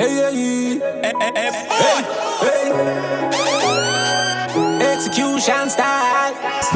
Hey. Execution style.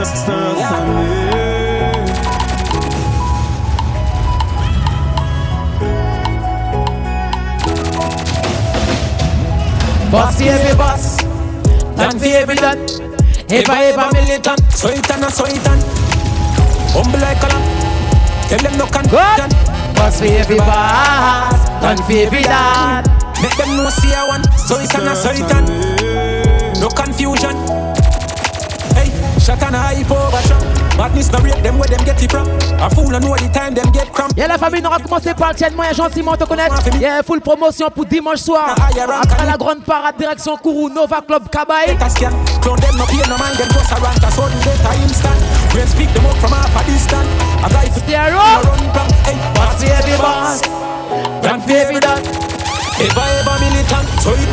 Boss for every boss, done for every done. Ever militant. So it and humble like a lamb. Tell them no confusion. Boss for every boss, done for every done. Make them know see I want. So it and no confusion. Hey, shot and hype over shot. Madness no rate them where them get it from. A fool and know the time them get cramp. Yeah, la famille, on va commencer par le tienne moyen gentiment te connaître. Yeah, full promotion pour dimanche soir. Après la grande parade direction Kourou, Nova Club Kabaï. Clone them no pay no man, them just around a sudden data instant. We speak them up from half a distance. A guy for stay around. Hey, boss for every boss, done for every done. Ever militant, so it.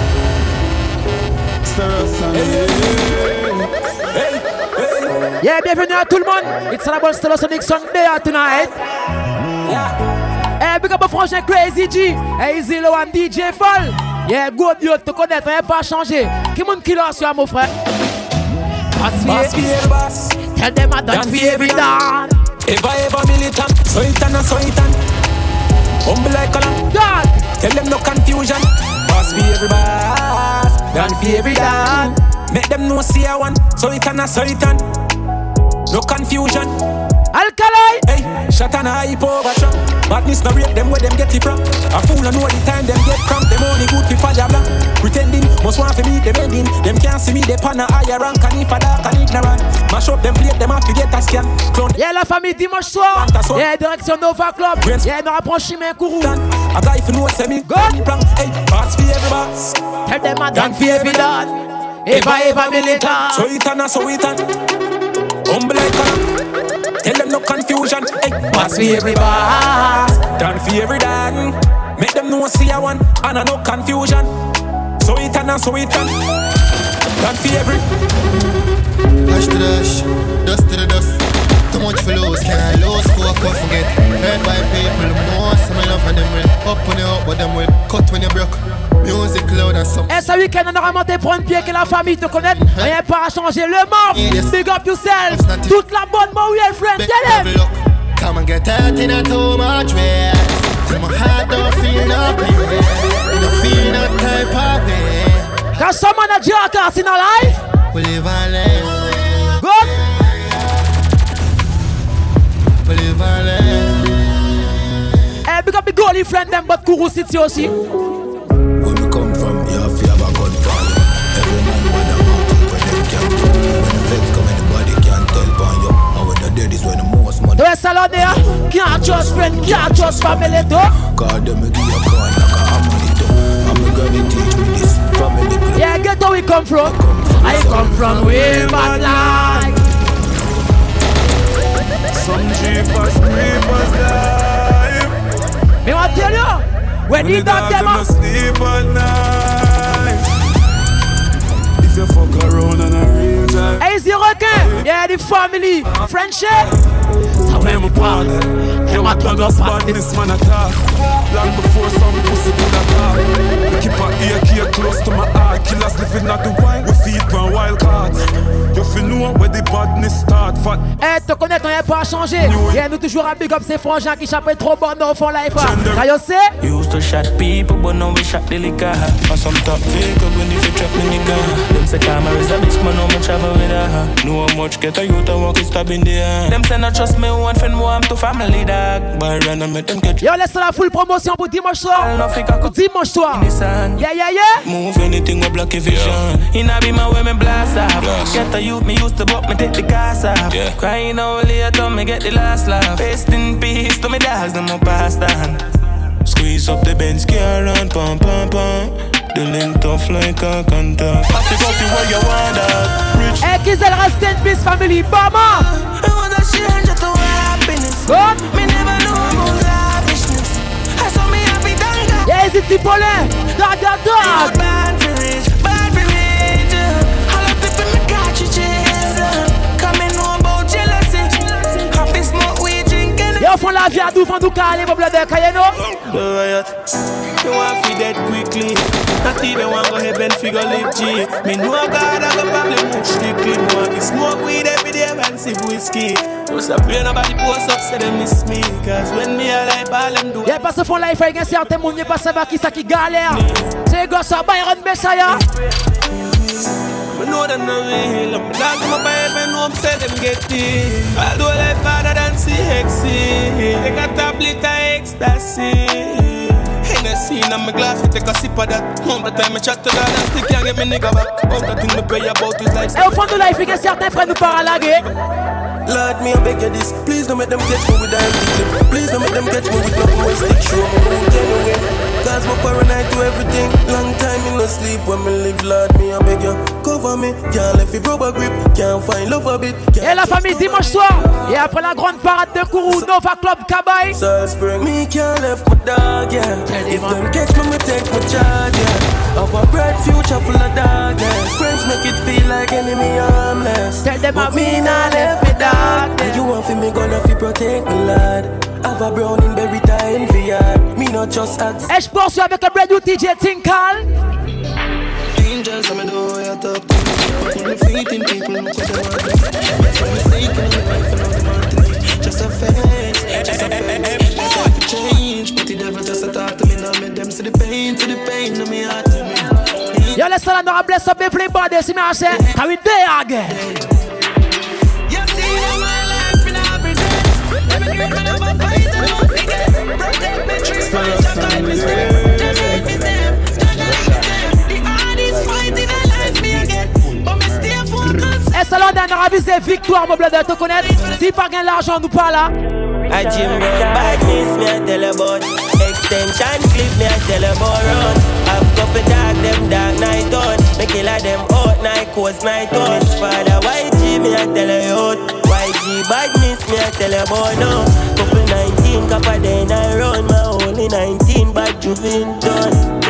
Yeah, bienvenue à tout le monde. It's about Stellosonic Sunday tonight. Yeah. Big up a frangin Crazy G. Hey, Zillow and DJ Fall. Yeah, good you te connaître, on n'a pas changé. Qui monte qui l'a sur mon frère? Boss for boss. Tell them I done for every done. Ever militant, so it and. Humble like a lamb. Done. Tell them no confusion. Boss for every boss, done for every done. Make them know see I want, so it and no confusion. Alkali. Hey, shot and hype over shot. Madness no rate them where them get it from. A fool and know the time them get cramp. Them only good for Pajabla. Pretending, must want to meet them ending. Them can't see me, they pan a higher rank. And if a dark and ignorant, mash up them plate, them have to get a scan. Clone. Yeah, la famille dimanche soir. Yeah, direction Nova Club. Yeah, nous rapprochons chemin Kourou. A guy for no semi. Good. Hey, boss for every boss. Tell them I done for every done. Ever militant. So it and. Humble like a. Tell them no confusion. Hey, boss for every boss, done for every done. Make them know see I want, and no confusion. So it and. Done for every. Dash to dash, dust to the dust. Too much for lose, can't lose, focus, forget. Heard by people, most of my love and them will up when you up, but them will cut when you broke. Music loud and some. Et ce week-end, on aura monté prendre pied que la famille te connaît. Rien pas à changer le mort. Big up yourself. Toute la bonne Mauriel friend. Tell them. Come and get out in a too much way. My heart don't feel no pain. Don't feel no type of pain. Can someone a jackass in our life? We live and live. Good. We live and live. Hey, big up the goalie friend them, but Kourou City aussi. When we come from, you have to have a gun fire. Every man want a mountain when them can't do. When the feds come, anybody can't tell by you. And when the dead is when the most money. The salon there, can't trust friend, can't trust family too. God, them give you a gun like a harmony too. I'm gonna teach me this family club. Yeah, get where we come from. I come from Wilman Life. Some jeepers, creepers life. Me want tell you, when you got them up. Sleep at night. If you fuck around on a real time. Hey, the requin. Yeah, the family, friendship. So when we part, you want to go spot this man attack. Long before some pussy could attack. Keep an ear close to my heart. Killers living at the wine. We feed on wild cards. You feel know where the badness start. Eh, te connaître, on n'est pas changé. Yeah, nous toujours à big up ces frangins qui chappent trop bon dans fond life. Can you say? Used to shot people, but now we shot the liquor. On some top vehicle when if you trap the nigga. Them say karma is a bitch, man, how much travel with her. Know how much get a youth and walk is stab in the air. Them say not trust me, one friend, more I'm to family dog. But run and make them catch. Yo, laisse la full promotion pour dimanche soir. Dimanche soir. Yeah. Move anything with block vision. In a be my women blast off. Get a youth, me used to buck, me take the gas off. Crying out later, me get the last laugh. Rest in peace to me dogs, them up past on. Squeeze up the Benz, gear and pam. The link tough like a contact. I think of you where you want that. Hey, Kizel, rest in peace, family. Bama. I want to change it to happiness. Good. Me never know about lavishness. I saw me happy done. Yeah, is it Tipolin? Dog. Bad for rich. All the people me cartridges. Coming home about jealousy. Happy smoke we drinking. Yo, fond la vie à d'où fond du calé, mon bled de Kayeno. You want to dead quickly. Not even want to go heaven figure live G. Me know God I go probably move strictly. Me want to smoke weed every day and sip whiskey. Just a pray nobody post up say they miss me. Cause when me alive all them do. Y'a pas ce fond life avec un certain monde, y'a pas savoir qui ça qui galère. C'est gosse à Byron Messiah. I know them no real. I'm like my Bible, know I'm say them get it. Although life harder than CXC. They got tablet of ecstasy. Hennessy in my glass, we take a sip of that. All the time I chat to God and still can't get me nigga back. All the thing me pray about is like. Et au fond de life, il y a certains frères nous paralaguer. Lord, me I beg you this. Please don't make them catch me with that clip. Please don't make them catch me with nothing when stick show me who genuine. Cause my paranoid to everything. Long time in no sleep when me live. Lord, me I beg you cover me. Can't let it rubber grip. Can't find love a bit. Et la famille dimanche soir. Et après la grande parade de Kourou, Nova Club Kabaï. Spring. Me can't left my dog, yeah. If them catch me, me take my charge, yeah. Of a bright future full of darkness. Friends make it feel like enemy harmless. Tell them but me not left me dog. And you want for me gonna fi protect me, lad. Have a brown in berry time for ya. Me not just ask. Et je poursuis avec le brand new DJ Tinkal. Angels, I'm a door, I talk to you. Only faith in people who could have won. That's why mistaken in life and all the martin. Just a face, just a face. My life will change, but the devil just a talk to me. Now make them see the pain in my heart to me. Yo, let's all know bless up the flame body. See me I say, how we there again? You see them my life in every day. Every dream I never fight and don't forget. Protect me, treat my just like me step. Just like me step, just like me step. The hardest fight in a life me again. But me stay focused. Et ça l'on a avisé victoire, mon bled de te connaître. Si pas gain l'argent, nous pas là. I gym road badness, me I tell about. Extension clip, me I tell about run. I've couple dark, them dark night on. Me killer them out, night coast, night on. Miss father, YG, me I tell you out. YG badness, me I tell about now. Couple 19, copper then I run. My only 19, bad juvenile done.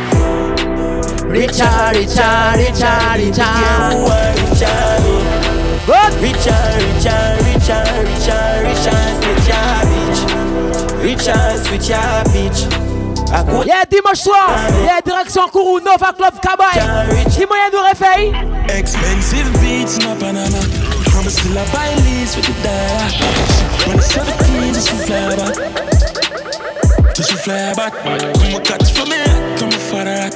Richard, Richard, Richard, Richard. You are Richard, me. Good. Richard, Richard, Richard, Richard, Richard, switch your bitch. Richard, switch your bitch. Yeah, dimanche soir, yeah, direction Kourou, Nova Club Kabaï. Qui moyen nous réveille? Expensive beats in Panama. I'm still a buy lease with the dollar. When it's 17, just to fly back. Just to fly back. Come on, catch for me, come on, for that.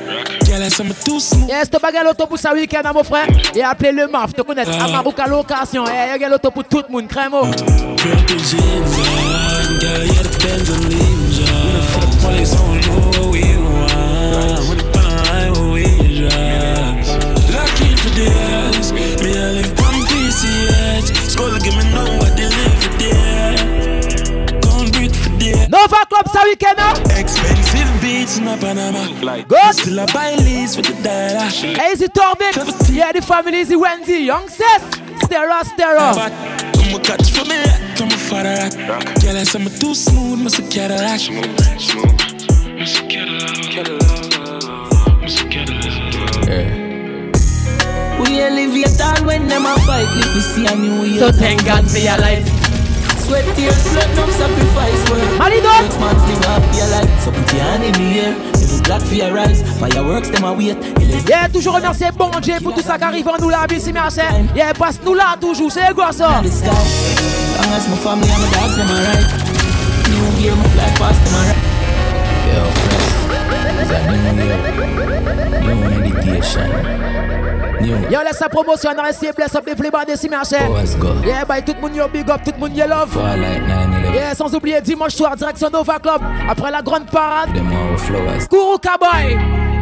Yes, tu bagues l'autobus à week-end, mon frère. Et appelez le MAF, tu connais à Marouka location. Et il y a l'autobus pour tout le monde, crème. Lucky for this, me I live one PCH. School give me know what they live for there. Can't breathe for there. Nova Club ça week-end. Expensive beats in Panama. Good. Still a buy lease with the dollar. Easy Torvik. Yeah, the family Easy Wendy. Young sis. Stera, Stera. Come catch for me, come for that. Girl, I say I'm too smooth, must a Cadillac. We elevate all when them a fight. If we see a new year, so thank God for your life. Sweat, tears, blood, no sacrifice. Malidon. Next month live happy alive. So put your hand in the air. If you black for your eyes, fireworks them a wait. Yeah, toujours remercier bon Dieu pour tout ça qui arrive en nous la vie, si merci. Yeah, passe nous là toujours, c'est quoi ça? Long as my family and my dogs them alright. New year, my fly past them alright. Yo, fresh. It's a new year. New meditation. Yo, laisse sa promotion, on a essayé bless up les flébans des merci. Yeah, bye, tout le monde yo big up, tout le monde yo love. Yeah, sans oublier dimanche soir, direction Nova Club. Après la grande parade, Kourou Kabaï.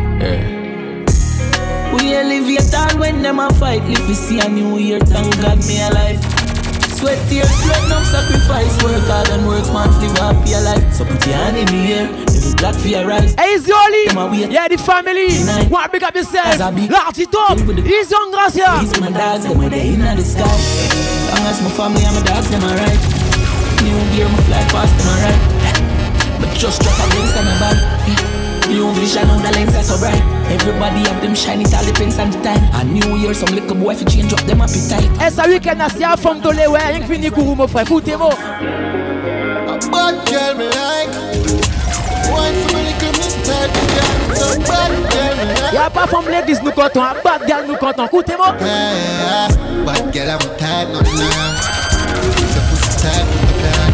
We elevate all when them a fight. If we see a new year, thank God me alive. Sweat, tears, blood, no sacrifice. Work hard and work smart, live happy alive. So put your hand in the air, if you black for your eyes. Hey, it's Yoli. Yeah, the family. Want big up yourself. Large it up. He's young, gracia. These my dogs, them with the in the sky. Long as my family and my dogs, them alright. New year, my fly past them alright. But just drop a links and a bag. New vision on the lens are so bright. Everybody have them shiny, it all depends on the time. A new year, some little boy fi change up them appetite. Et ça week-end, c'est à fond de l'eau, rien que fini Kourou, mon frère, écoutez-moi. girl me like. Wine for me little mister, girl. So bad girl me like. Y'a pas femme l'église nous content, bad girl nous content. Écoutez-moi. Bad girl I'm tired, nothing wrong. If your pussy tight, put the plan.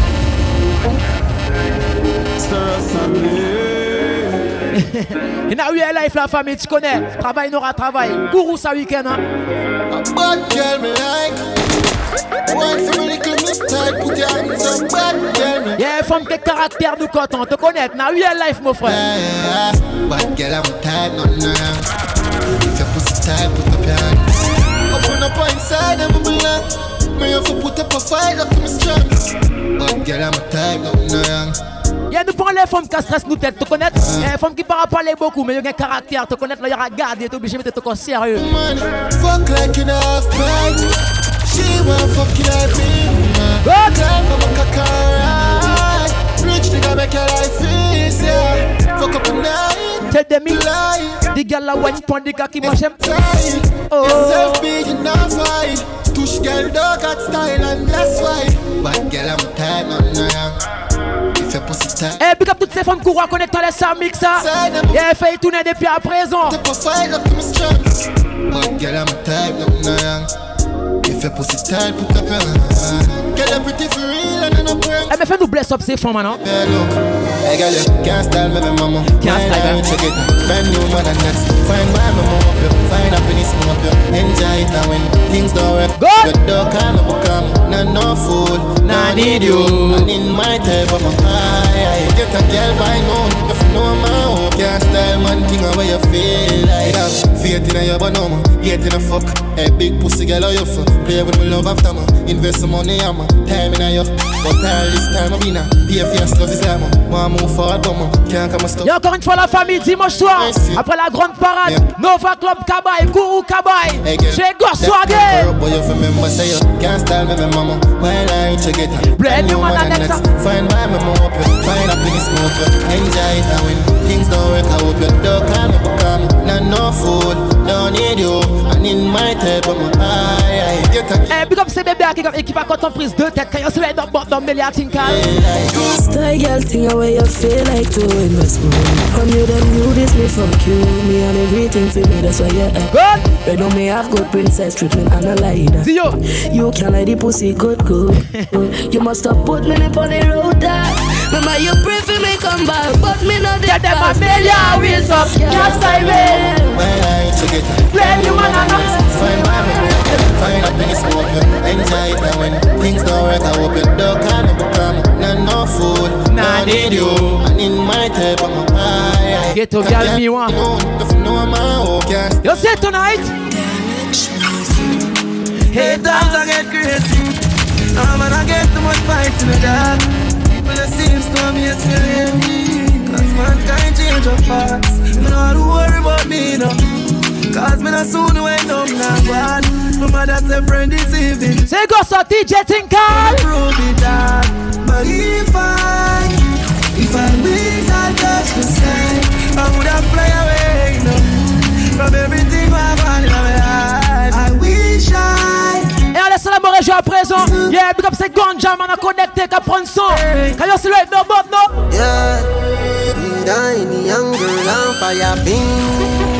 In a real life la famille, tu connais. Travail n'aura travail. Gourou ça week-end hein. Bad girl me like. Wine for me little mister, put your hands up. Bad girl me. Y'a femme qui caractère nous content, te connaître. In a real life mon frère. Bad girl I'm tired, nothing wrong. If your pussy tight, put the plan. Open up inside and belong. Me have to put up a fight up to me strong. Bad girl I'm tired, nothing wrong. Y'a nous prend les femmes qui stressent nous tête, te connaître. Y'a les femmes qui parlent parler beaucoup, mais y'a un caractère, te connaître, là y'a regardé, t'es obligé de mettre ton sérieux. Man, fuck like in half pint. She want fuck you like me. Good. Girl, come a cock rich nigga make your life easy. Fuck up the night. Tell them me, lie. the girl la one point the cocky moi j'aime. Oh. Yourself big enough fight. Stush girl dog got style and that's why. But girl I'm tired, nothing wrong. Eh, pick up toutes ces femmes qui reconnaissent les ça mix ça. Et elle fait tourner depuis à présent. Eh, mais fais-nous bless up ces femmes maintenant. Hey girl, you can't style me, mama. Can't style me. Check it. Brand new man and next. Find my mama up you. Find happiness up you. Enjoy it and when things don't work. Good. You don't come up come. Not no fool. Nah need you. And in my type of my eye. Get a girl by noon. If you know my own. Can't style man thing away you feel like. Faith in your banana. Hate in a fuck. Hey big pussy girl how you fuck. Play with me love after me. Invest some money on me. Time in you. But all this time I've been a. Be a fierce love is like me. Y'a encore une fois la famille dimanche soir. Après la grande parade, Nova Club Kabaye, Gourou Kabaye. Chez Gorswagé. Brand new man and next. Find my mama up you. Find happiness smoke you. Enjoy it and when things don't work I hope you don't call me become. Not no fool. Don't need you. And in my type of my eye. Eh, big up ces bébés qui va quand on prise deux têtes. Quand on se met dans le bord mais les atinkal. Style girl thing away you feel like to invest money. From you them knew this me fuck you. Me and everything for me that's why you act. Good. But don't me have good princess treatment and I like that. Zio. You can't like the pussy good. You must have put me on the road that. Remember you pray for me come back. But me not Get them a million wheels up. Can't style me. Brand new man and next. Find my mama. Find happiness smoke you. Enjoy it and when things don't work I hope you don't call me become. Not no fool. Nah need you. And in my type of my eye. Get to girl me one. You see tonight? Hey, times I get crazy. Man, I get too much fight in the dark. People that seems to me, it's killing me. Cause mankind change of parts. You don't have to worry about me, no. Cause me not soon went up now, bad. My mother said friend is even. Say go so DJ Tinkal. Prove it that. But if I wings I touch the sky, I would have fly away, no. From everything I've had in my life. I wish I. Et on laisse la mort à présent. Yeah, big up c'est Ganja, man a connecté, qu'à prendre son. Can you see right now, but no? Yeah, we dying young girl on fire ping.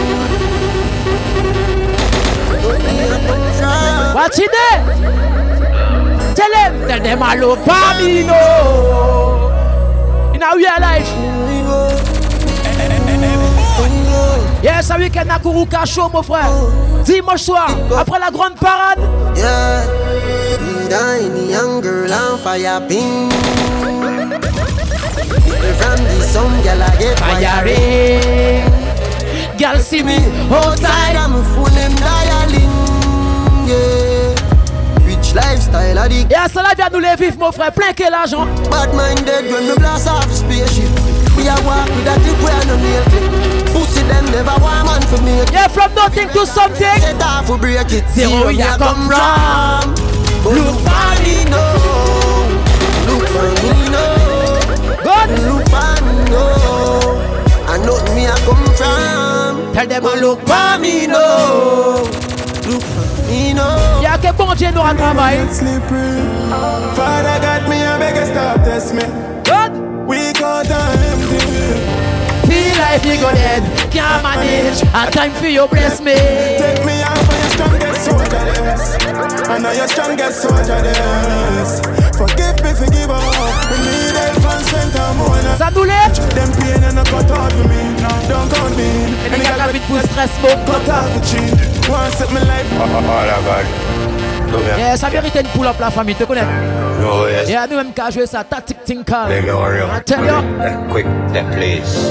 Watch it there. Tell them I love Pamino. In our real life. Yes, un week-end à Kuruka show, mon frère. Dimanche soir, après la grande parade. Yeah, we dying young girl on fire ping. From the sun, girl I get fire. Girl see me outside. I'm a phone them dialing. Yeah, rich lifestyle addict. Et à cela vient nous les vivre, mon frère. Plein que l'argent. Bad minded when me blast off the spaceship. We a walk with that tip where no nail clip. Pussy them never want man for me. Yeah, from nothing to something. Set off for break it. Zero ya come from. Look for me now. Look for me now. Good. Look for me now. I know me I come from. Tell them I look for me now. Look for me now. Y'a que bon Dieu nous a travaillé. Father got me, I beg you stop test me. Good. out and empty. Feel like you go dead, can't manage. A time for you bless me. Take me out for your strongest soldierless. I know your strongest soldierless. Forgive me, forgive up. We need help and strength and more. Ça nous l'est. Them pain and a cut out for me. Don't count me. Et les gars qui pour stress, bon. Cut out the cheat. Want set my life. Oh la God. Yeah, ça mérite une pull-up la famille, tu connais? No, yes. Yeah, nous-mêmes qu'à jouer ça, tactic tinkal. Let me hurry up. I tell you. Quick, that please.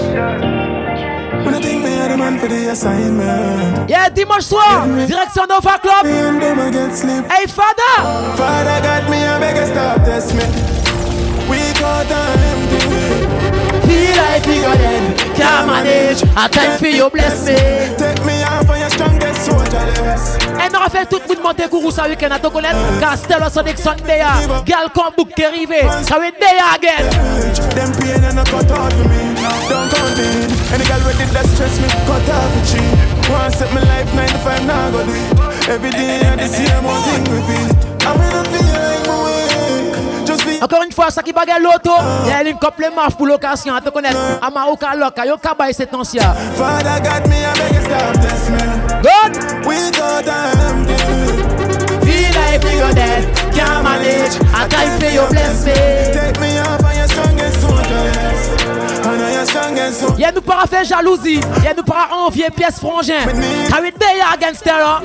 When I think me had a man for the assignment. Yeah, dimanche soir, direction Nova Club. Me and them I get sleep. Hey, Father. Father got me, I beg you stop test me. We got and empty. Feel like you go dead, can't manage. A time for you bless me. Take me out for your strongest soldierless. Et nous fait tout le monde monter courou ça week-end à te connaître. Castello Sonic Sunday, Gal Combook qui est arrivé. Ça va être day again. Them pain and a cut out for me. Don't count me. Any girl with it that stress me, cut out the cheat. Want set my life 9 to 5, now go do it. Every day I the same one thing repeat. I'm in a feel like my way. Just be. Encore une fois, ça qui bagarre l'auto. Il y a une couple marche pour l'occasion à te connaître. Amaruka Loka, yo kabay cet ancien. Father got me, I beg you stop test me. Good. We got and empty. Feel like you go dead, can't manage. A time for you bless me. Take me out for your strongest soldierless. I know your strongest soldierless. Y'a nous para faire jalousie. Y'a nous para envier pièce frangin. How it day against terror.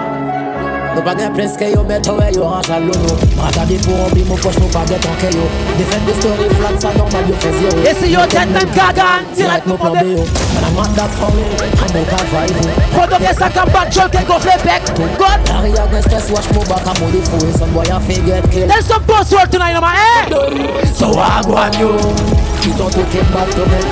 Nous pas de presque yo mettre ouais yo range à l'eau. Regarder pour remplir mon poche mon baguette en caillou. Défendre des stories flat ça normal yo fait zéro. Et si yo tête même gagan, direct mon plan B. Madame Manda Frollo, I'm a cavalier. Pendant que ça combat Joel qui gonfle le bec. God. Arrière de stress watch mon bac à modi fou. Son boy a fait get kill. There's some boss world tonight, man. Eh? So I go on you. Qui t'ont tout est back to me.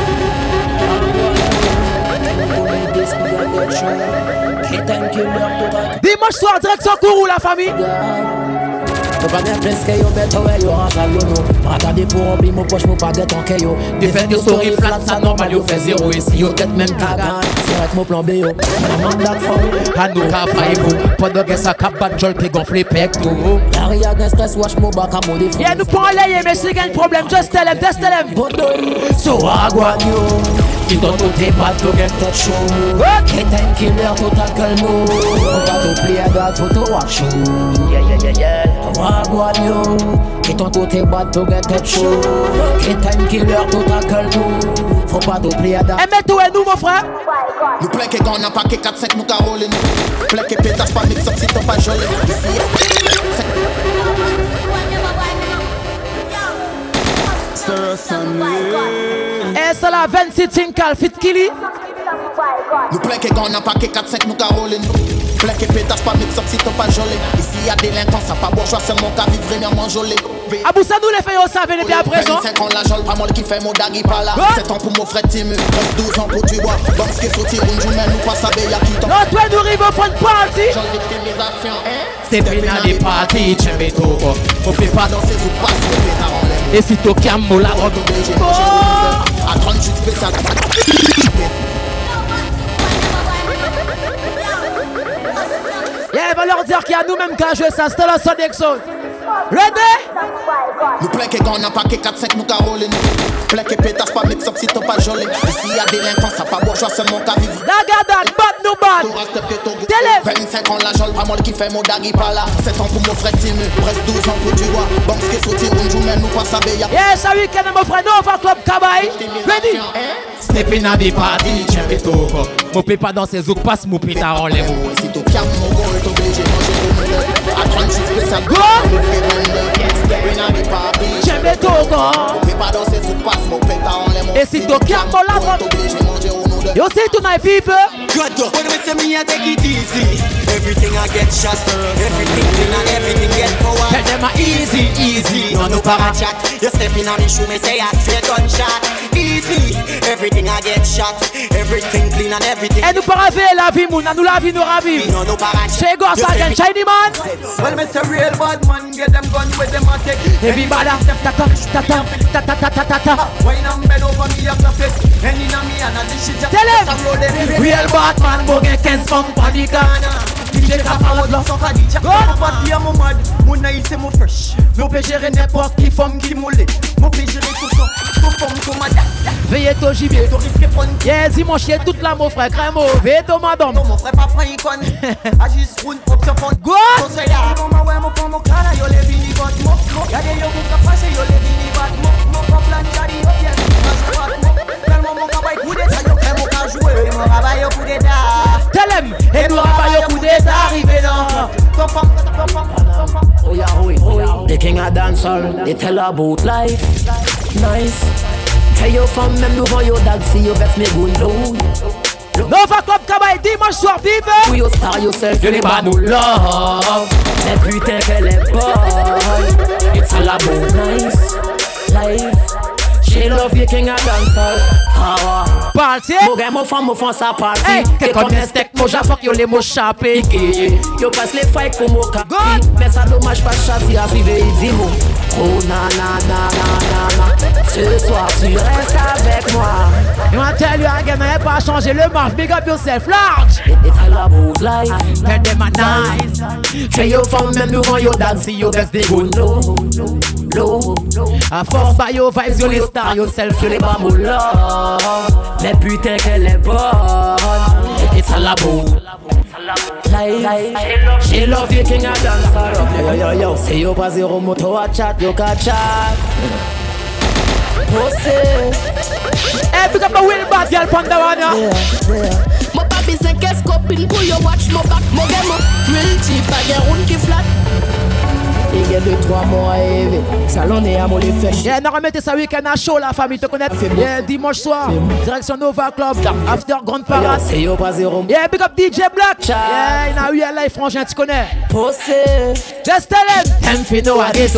Dimanche soir, direction Kourou, la famille. Nous pas bien presque yo mettre ouais yo range à l'eau. Regarder pour remplir mon poche mon baguette en caillou. Défendre des stories flat ça normal yo fait zéro. Et si yo tête même gagan, direct mon plan B yo. Madame Manda Frollo. à nous cafayez-vous. Pendant que ça combat Joel qui gonfle le bec. Arrière de stress watch mon bac à modi fou. Yeah, nous pas aller, mais si y'a un problème, just tell him, just tell him. So I go on you. Qui t'ont tout est pas to get Touch show. Get time killer total calmo. Faut pas t'oublier à garde photo watch show. Wagwan yo, qui ton tout est bad to get touch show. Get time killer total calmo. Faut pas t'oublier à garde. Eh, mets-toi et nous, mon frère. Nous plaît que gonna paquet 4-5 nous carolines. Plaît que pétasse pas mix up si t'as pas jolé. Eh, c'est la 26 Tinkal, Fit Killy. Nous plaît que gonna paquet 4-5 nous carolines. Plaît que pétasse pas mix up si t'as pas jolé. Ici y'a délinquants, ça pas bourgeois, c'est mon cas vivre vraiment jolé. Abou Sadou les fait au savez bien à présent. 25 ans la jole, pas moi qui fait mon dagui pas là. 7 ans pour mon frère Timu, 12 ans pour du bois. Bon, ce qui est sauté, une journée, nous pas savoir y'a qui t'en. Non, toi nous arrivons au fond de party. Jole victimisation, hein. C'est bien à des parties, tchèbe tout. On fait pas Dans ses ou pas, c'est le pétard en l'air. et si tu camo la robe. À 38 spécial. Yeah, va leur dire qu'il y a nous-mêmes qui a joué ça, c'était la Sonic Sound. Ready? Nous plaît que gonna paquet 4-5 nous carolines. Plaît que pétasse pas mix up si t'as pas jolé. Ici y'a délinquants, ça pas bourgeois, c'est mon cas vivre. Dagadan, bat nous bat. Télé. 25 ans la jole, pas moi qui fait mon dagui pas là. 7 ans pour mon frère Timu, presque 12 ans pour du bois. Bon, ce qui est sauté, une journée, nous pas savoir y'a. Yeah, ça week-end, mon frère Nova Club Kabay. Ready? Stepping at the party, tchèbe tout. Mon peut pas danser zouk, passe mon pétard en l'air. Si tu calmes mon goal, t'es obligé de manger au milieu. À 36 spécial, Go! stepping on the party. Tchèbe tout, quoi. On peut pas danser sous passe, mon pétard en l'air. Et si tu camo la robe. T'es obligé de manger au milieu. You see tonight, people? Good, when we say me, I take it easy. Everything I get shot, everything clean and everything get power. Tell them easy, easy. No, no para chat. You step in on the shoe, me say I straight gunshot. Easy, everything I get shot, everything clean and everything. Et nous para faire la vie, mouna, nous la vie, nous ravive. No, no para chat. Chez Goss again, shiny man. Well, me say real bad man, get them gun with them a take. Everybody, ta-ta, ta-ta, ta-ta, ta-ta. Why not bend over me up the face? And in a me and a this shit just Tell him, real Batman, bogue 15 pounds for the corner. DJ ka parle là. Sans cadet, check mon parti à mon mad. Mon naïf c'est mon fresh. Mon peut gérer n'importe qui femme qui moulait. Mon peut gérer tout ça. Tout femme, tout madame. Veillez ton gibier. Yeah, dis-moi chier toute la mon frère. Crème au. Veillez ton madame. Non, mon frère pas prend icône. Agis roule, option fond. Go! Conseil là. Maman, ouais, mon frère, mon cara, yo les vini got mo. Y'a des yo qui ont passé, yo les vini bat mo. Mon plan, j'arrive, yo bien. Tellement mon travail, coup d'état, yo crème au cas jouer. Mon travail, yo coup d'état. Tell him. Et nous rabaille au coup d'état arrivé là. Oh yeah, the king of dancehall, they tell about life. Nice. Tell your fam même devant your dad, see you vex me good low. Nova Club Kabay dimanche soir, vive. To your star yourself, you never know love. Mais putain qu'elle est bonne. It's all about nice life. She love you king of dancehall. Party. Mon gars, mon femme ça party. Hey, quelqu'un de steak, mon j'affoque, yo les mots chapés. Yo passe les fights pour mon capi. Mais ça dommage pas chasser à suivre et dis-moi. Oh na na na na na. Ce soir tu restes avec moi. You want tell you again, n'avez pas changé le marche. Big up yourself, large. It's all about life. Tell them a nice. Tell your femme même devant your dad, see you best they go low. A force by your vibes, you les stars yourself, you les pas mon love. Mais putain qu'elle est bonne. It's all about life. She love you king of dancehall. Yo. Say you pas zéro moto à chat, yo ka chat. Hey, pick up a wheel bad girl from the one, yeah. Mon papi c'est qu'est-ce copine pour yo watch mon back, mon game, real cheap, pas de round qui flat. Il y a 2-3 mois à élever. Salon et à mon les fesses. Yeah, on remettez ça week-end à chaud la famille, te connaître. Yeah, dimanche soir, direction Nova Club, after grande parade. C'est yo pas zéro. Yeah, big up DJ Black. Yeah, il a eu un live frangin, tu connais. Possé. Just tell him. Them fi know a ghetto.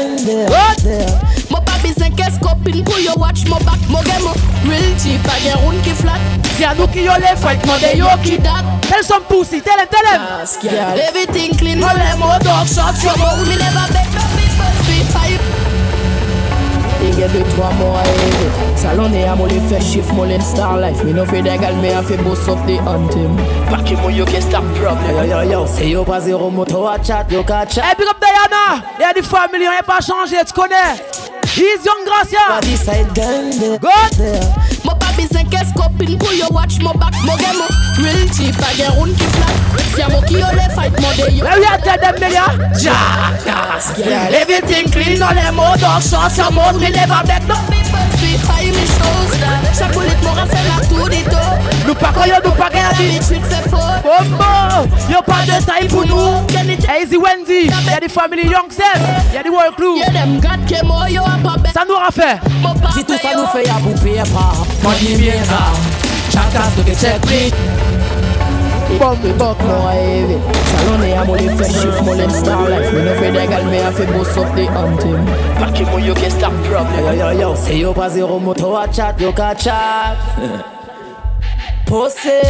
Mon papi c'est qu'est-ce copine pour yo watch mon back, mon game, real cheap, pas de round qui flat. C'est à nous qui yo les fight, mon de yo qui date. Tell some pussy, tell him. Everything clean, all them old dog shots, your mouth, me never beg no people, free pipe. Il y a 2-3 mois à élever. Salon et à mon les fesses, shift mon star life. Me no fait d'égal, mais a fait boss up the anthem. Back mon yo qui start problem. Yo, c'est yo pas zéro moto à chat, yo ka chat. Hey, big up Diana. Y'a des familles, on n'est pas changé, tu connais. He's young Gracia. Good. Mon papi c'est qu'est-ce copine pour yo watch mon back, mon game, real cheap, pas de round qui flat. Si y'a mon qui yo les fight, mon de yo. Let me tell them, nigga. Jackass. Everything clean, all them old dog shots, your mouth, me never beg no people, free fire me shows that. Chaque bullet m'aura fait la tour des dos. Nous pas croyons, nous pas gagner. Les tweets c'est faux. Bombo, y'a pas de taille pour nous. Easy Wendy, y'a des familles young self, y'a des world crew. Y'a dem gars qui mo yo a pas bête. Ça nous aura fait. Si tout ça nous fait y'a pour payer pas. Money maker, Jackass to get check me. Bombe bok moi élevé. Salon et à mon les fesses, shift mon star life. Me no fait d'égal, mais a fait boss up the anthem. Back mon yo qui start problem. Yo, c'est yo pas zéro moto à chat, yo ka chat. Possé.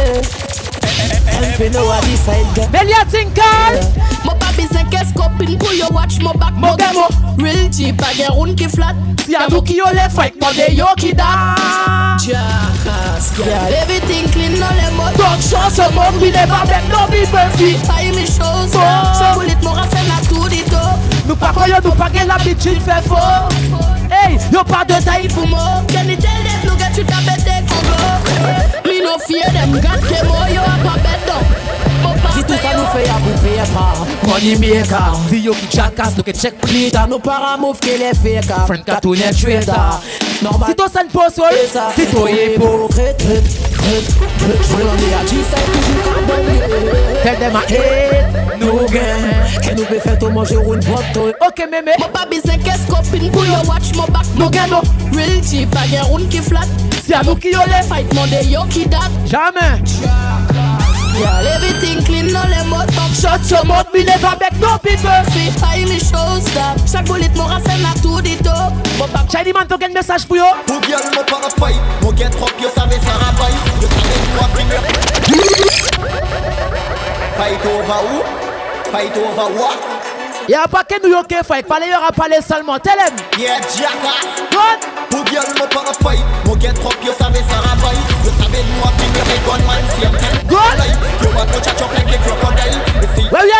Belia Tinkal. Mon papi c'est qu'est-ce copine pour yo watch mon back, mon game, real cheap, pas de round qui flat. Si à nous qui yo les fight, mon de yo qui da. Jackass. Everything clean, no les mots. Don't show some more, we never make no people free. Fire me shows. Ce bullet m'aura fait la tour du dos. Nous pas croyons, nous pas gain l'habitude fait faux. Hey, y'a pas de taille pour moi. Can you tell them, look at you ta bête des congos. Me no fear them, got them, oh yo a pas bête donc. Si tout ça nous fait y'a pour payer pas. Money maker, si yo qui Jackass, nous qui check please. T'as nos parents mouf qui les fait car. Friend cartoon et trader. Normal. Si toi ça ne pose sol, si toi est beau. Je veux l'en dire à G, ça est toujours carbone. Tell them I hate no gain. Que nous peut faire tout manger ou une botte. Ok mémé. Mon papi c'est qu'est-ce copine pour yo watch mon back, mon game, real cheap, pas de round qui flat. Si à nous qui yo les fight, mon de yo qui date. Jamais. Yeah, everything clean, no les mots. Shot your mouth, me never make no people. Free fire me shows that. Chaque bullet m'aura fait la tour du dos. Shiny man, t'as un message pour yo. Pour bien mon pas fight, mon get trop, yo savais ça rabaille. Yo savais moi finir. Fight over who? Fight over what? Y'a pas que New York fight, parler y'aura parlé seulement. Tell him. Yeah, Jackass. Good. Pour bien mon pas fight, mon get trop, yo savais ça rabaille. Yo savais moi finir, et gunman, c'est un tel. Good. You want to chat up like a crocodile.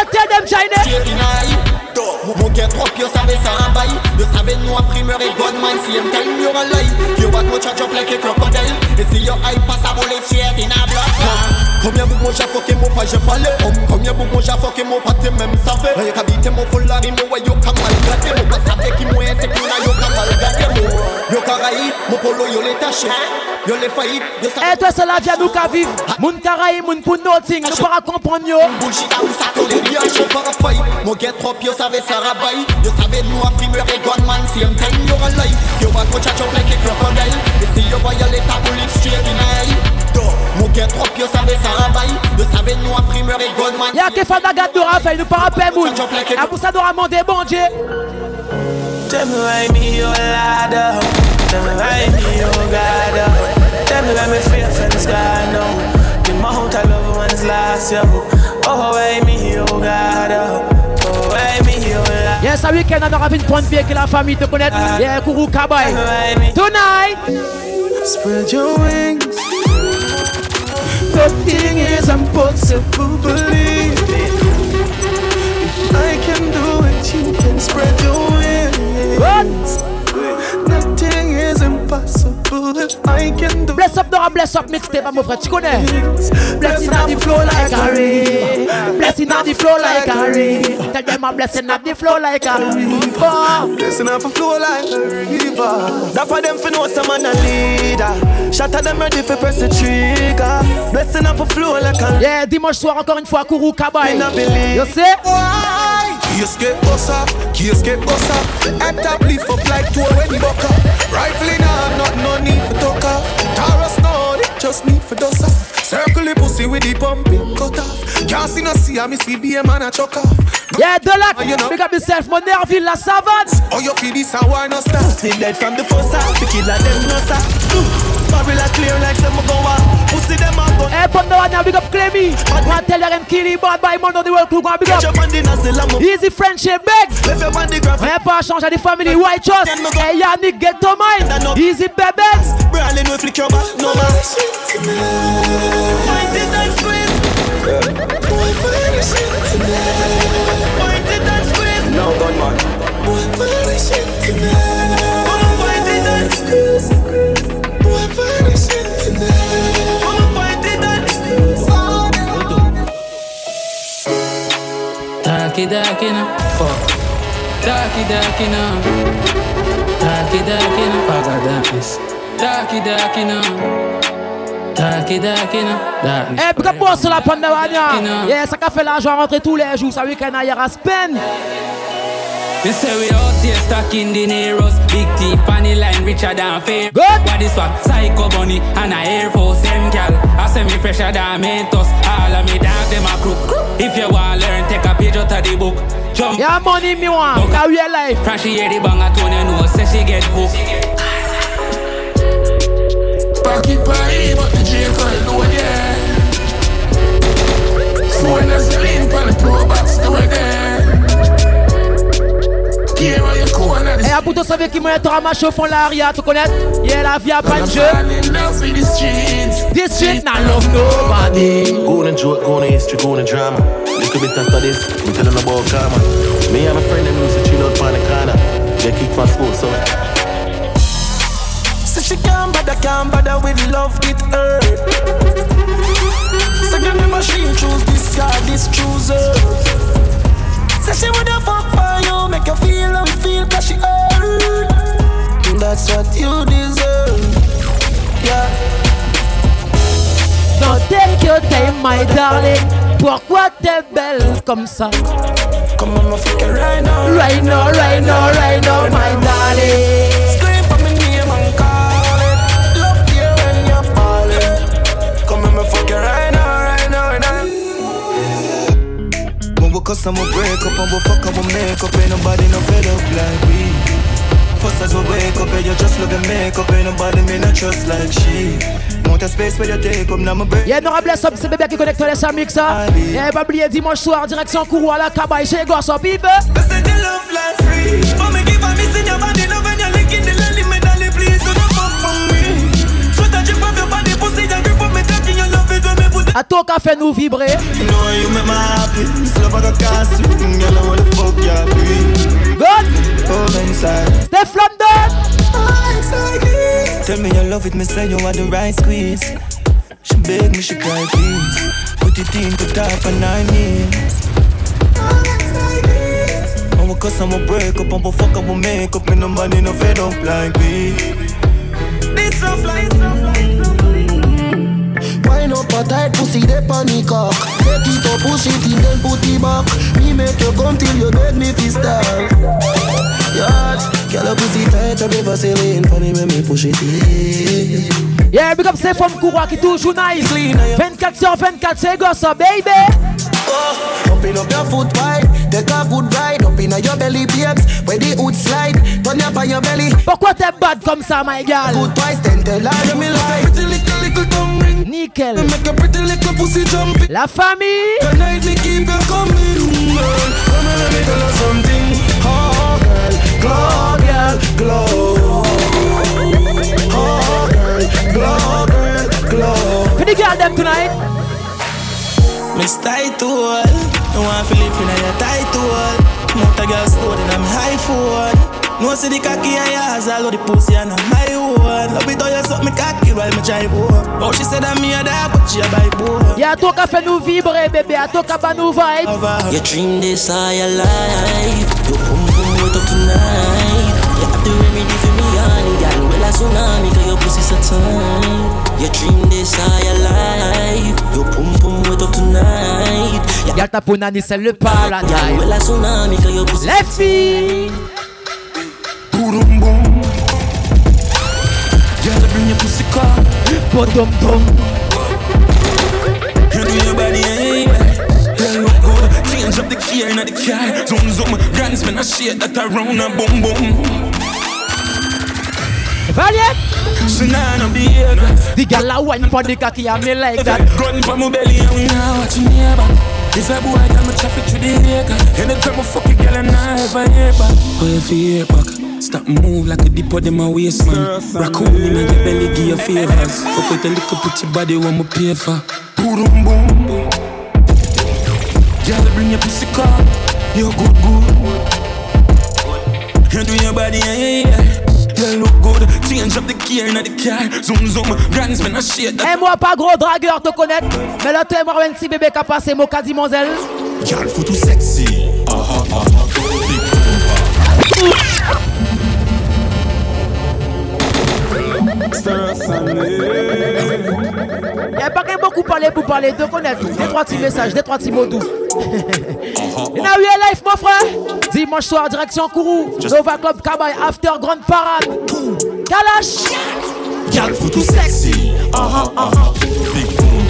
tell them China. Mon gars trop pire, savait ça un bail. De savait nous à primeur et Godman. Si I'm telling you a lie, you what much a jump like a crocodile. Et si your eye pass à voler, tu es in a blood. Combien de mon j'ai fucké mon pas, j'ai parlé. Combien de mon j'ai fucké mon pas, t'es même savait. Rien qu'à biter mon foulard, il m'a yo comme mal gâté. Mon pas savait qui m'a c'est qu'on a yo comme mal gâté. Yo caraï, mon polo yo les taché. Yo les faillites, yo ça. Et toi, c'est la vie à nous qu'à vivre. Moun caraï, moun pour nothing. Nous pas comprendre yo. Bullshit à où ça colle bien, je pas à faille. Mon gars trop pire, savait ça rabaille. Yo savait nous à primeur et Godman. Si I'm telling you a lie, you what much a jump like a crocodile. Et si yo voyais les taboulites straight in eye. Mon gars trop pire, savait ça rabaille. Yo savait nous à primeur et Godman. Y'a que Fada Gadora fait nous pas rappeler moun. A pour ça doit demander bon Dieu. Tell me why me your ladder. Tell me why me your God. Tell me why me fear friends gone now. The amount of love ones last year. Oh why me your God. Oh why me your ladder. Yes, ce week-end on aura une pointe pied que la famille te connaît. Yeah, Kourou Kabaï. Tonight. Spread your wings. Nothing is impossible, believe it. If I can do it, you can spread your wings. What? Nothing is impossible if I can do it. Bless up, Dora, bless up, mixtape, mon frère, tu connais. Blessing on the flow like a river. Blessing on the flow like a river. Tell them I'm blessing on the flow like a river. Blessing on the flow like a river. That's why them for know some man a leader. Shatter them ready for press the trigger. Blessing on the flow like a river. Yeah, dimanche soir encore une fois, Kourou Kabaï. You see? Qui escape boss up, qui escape boss up. The head top leaf up like two when you buck up. Rifle in hand, not no need for talk up. Taurus no, they just need for dust up. Circle the pussy with the pumping cut off. Can't see no see, I me see be a man a chuck off. Yeah, Delac, big up yourself, mon Nerville, la savane. Oh, you feel this and why not stop? Pussy dead from the first half, the kid like them no stop. Barrel clear like some go out. Pussy them out. Hey, put the one now, big up Clemmy. One tell them kill him, bad by man on the world crew, go big up. Easy friendship, begs. Hey, pas changer the family, white trust. Hey, Yannick, get to mine. Easy, babies. Brawling with flick your back, no man. Point it and squeeze. Boy, find your shit tonight. Point it and squeeze. No, gun man. Boy, find your shit tonight. Point it and squeeze. Boy, find your shit tonight. Point it and squeeze. Darky, darky, no. Fuck. Darky, darky, no. Darky, darky, no. Paga darkness. Darky, darky, no. Darky, darky, no. Darkness. Eh, big up sur la Pandavania. Yeah, ça qu'a fait l'argent rentrer tous les jours. Ça week-end à hier à Spain. They say we out here stuck in the Neros. Big teeth, funny line, richer than fair. Good. What is what? Psycho bunny and a Air Force them gal. I say me fresher than Mentos. All of me dog them a crook. If you want learn, take a page out of the book. Jump. Yeah, money me want. Career life. From she hear the bang a tone, you know, say she get hooked. Pocket pie, but the J call do it, yeah. So when there's the link on the pro box, do it, yeah. Et à bout de savoir qui m'a été ramassé au fond de l'aria, tu connais? Yeah, la vie a pas de jeu. This shit, not love nobody. Going joke, going history, going drama. Little bit after this, we telling about karma. Me and my friend them used to chill out on the corner. They kick from school, so. So she can't bother with love, it hurt. So give me machine, choose this guy, this chooser. Say she woulda fuck for you, make you feel how you feel, cause she hurt. That's what you deserve, yeah. Don't take your time, my darling. Pourquoi t'es belle comme ça? Come on, my fuck it right now. Right now, right now, right now, my darling. Scream for me name and call it. Love you when you're falling. Come on, my fuck it right now, right now, right now. When we cuss and we break up and we fuck and we make up, ain't nobody no fed up like we. First as we wake up, and you just love your makeup, ain't nobody me not trust like she. Monte space where you take up, now my break. Yeah, Nora bless up, c'est bébé qui connecte les Samix, ça. Yeah, pas oublier dimanche soir, direction Kourou à la Kabaï, chez Gosse, up, people. They say the love life free. For me give a miss in your body, love when you're licking the lily, me darling, please do not fuck for me. Sweat a drip off your body, pussy, and grip on me, talking your love it when me put it. A toi qui fait nous vibrer. You know you make me happy. Still up like a castle. Girl, I wanna fuck ya, baby. Good. Come inside. Steph London. Tell me you love it, me say you are the right squeeze. She beg me, she cry please. Put it in, put up on 9 years. I'ma cuss, I'ma break up, I'ma fuck, I'ma make up. Me nobody no fed up like me. This so fly. Wine up a tight pussy, they panic cock. Take it up, push it in, then put it back. Me make you come till you beg me fi start. Yeah, girl a pussy tight, I never sailing. Funny when me push it in. Yeah, big up c'est from Koura qui toujours nice. 24/24, c'est gosse, baby. Open up your foot wide, take a good ride. Up in your belly, babes, where the hood slide. Turn up on your belly. Pourquoi t'es bad comme ça, my girl? Good twice, then tell her me like. Pretty little tongue ring. Nickel. Make a pretty little pussy jumping. La famille. Tonight me keep you coming, girl. Come and let me tell you something. Oh girl, glow, girl, glow. Oh girl, glow, girl, glow. For the girl them tonight. Miss tight to all. No one feel it in your tight to all. Mount a girl slow, then I'm high forward. No see the cocky and yours, all of the pussy and I'm my one. Love it how you suck me cocky while me drive home. Oh, she said I'm me a dog, but she a buy boy. Y'a toi qui fait nous vibrer, bébé. Y'a toi qui bat nous vibe. You dream this all your life. You come wait up tonight. You have the remedy for me, honey. Girl, well a tsunami, cause your pussy so tight. You dream this all your life. You pum wait up tonight. Y'a ta punani, c'est le paradis. Girl, well a tsunami, cause your pussy les filles. Boom boom. Girl, bring your pussy car. Bottom boom. You do your body, hey. Girl, look good. Change up the gear in the car. Zoom. Grands men a shit that around a boom boom. Valiant. Shanana behavior. The girl a wine for the cocky and me like that. Gun for my belly and we now watching neighbor. If I boy tell me traffic through the acre. Anytime I fuck a girl and I ever hear back. Oh, if you hear back. Stop move like a dip of them a waist man. Raccoon in your belly give you favors. Fuck with a little pretty body what me pay for. Boom boom. Girl bring your pussy car. You good. You do your body yeah. You look good. Change up the gear in the car. Zoom. Grands men a shit. Et moi pas gros dragueur te connaître. Mais là t'es moi un petit bébé qui a passé mon caddie monzel. Girl faut tout sexy. Y'a pas qu'un beaucoup parler pour parler, de connaître. Des trois petits messages, des trois petits mots doux. Et now we are live, mon frère. Dimanche soir, direction Kourou. Nova Club Kabay, after grande parade. Kalash. Girl faut tout sexy. Big boom.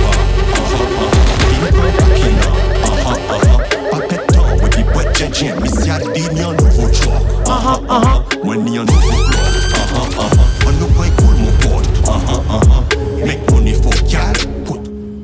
Papeton with the boîte JJ. Miss Yardi ni un nouveau choix. When ni un nouveau bloc. On nous point cool mon pote. Make money for girl. Put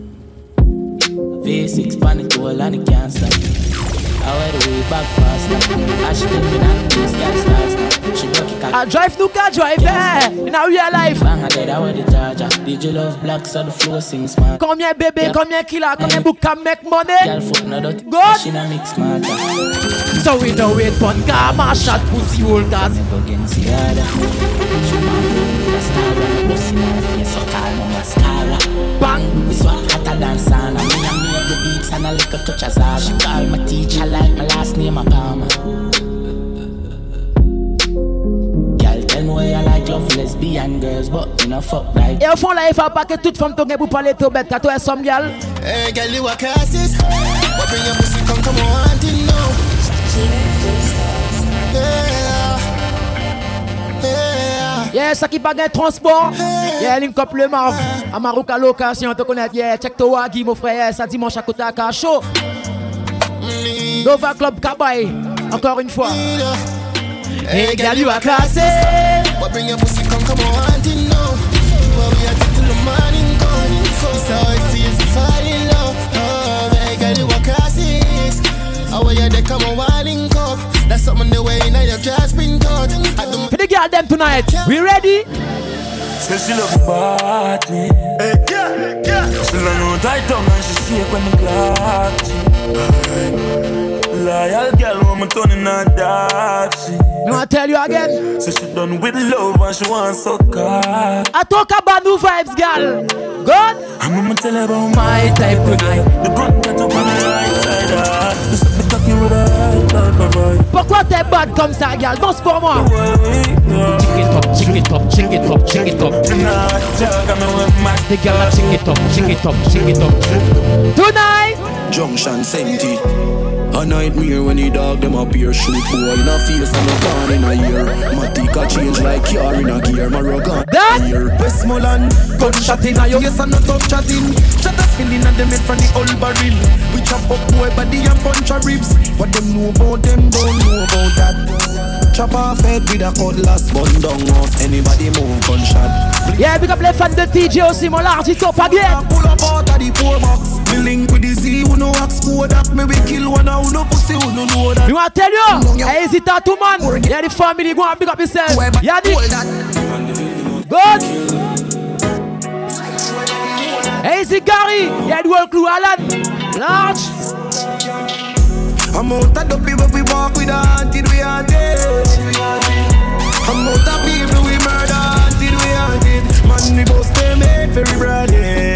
V6 panic to a land, it can't stop. I wear the way back fast. I should take me down, this girl starts. She broke it. I drive no car drive there. Now we are live. Bang a dead, I wear the charger. DJ love black, so the flow sing smart. Combien bébé, combien killer, combien book can make money? Girl foot no dot. Good. She na mix smarter. So we know it pon karma shot pussy holders. Never against the other. She man foot with a star and pussy man face so call no mascara. Bang. We swap hotter than sauna. Me and me at the beats and a little touch of Zara. She call my teacher like my last name a Palmer. Girl tell me why I like love lesbian girls, but you know fuck right. Et au fond là il faut pas que toute femme tongue pour parler tout bête. Quand toi some girl. Hey girl you a classes. But bring your pussy come on till now. Yeah, ça qui bagaille transport. Yeah, link up le Marv. À Maroc location, te connais. Yeah, check to Wagi, mon frère. Ça dimanche à côté à Cacho. Nova Club Kabay. Encore une fois. Hey, girl, you are classy. But bring your pussy come on till now. Well, we are till the morning come. It's how it feels to fall in love. Oh, hey, girl, you are classy. How are you there come on wilding cup? That's something the way now your grass been cut. For the girl them tonight, we ready? Say she love bad me. Hey, yeah. She learn how tight tongue and she shake when the clock loyal girl when me turning her dark. Me wanna tell you again. So she done with love and she wants so hard. I talk about new vibes, girl. Good. I'm gonna tell her about my type tonight. The gun got up on the right side. You suck me talking with her right. Pourquoi t'es bad comme ça, girl? Danse pour moi. Chick it up, chick it up, chick it up, chick it up. The girl chick it up, chick it up, chick it up. Tonight. Junction Senti. A nightmare when the dog them up here. Shoot boy in a face and a gun in a ear. Matika change like car in a gear. Marogan here. Westmoreland, gunshot in a yo. Yes and no tough chatting. Shot a spinning and them head from the old barrel. We chop up boy body and punch a ribs. What them know about them don't know about that. Chop off head with a cutlass. Bun down off anybody move gunshot. Yeah, big up les fans de TJ aussi, mon large, il top again. Pull up out of the poor box. Me link with the Z, who no ask who that. Me we kill one who no pussy, who no know that. You want to tell you? I hesitate too, man. Yeah, the family, go and big up yourself. Yeah, good. Easy Gary. Yeah, the whole crew, Alan. Large. I'm out of the people we walk with until we are dead. I'm out of people we murder until we are dead. Man, we both stay made very broad.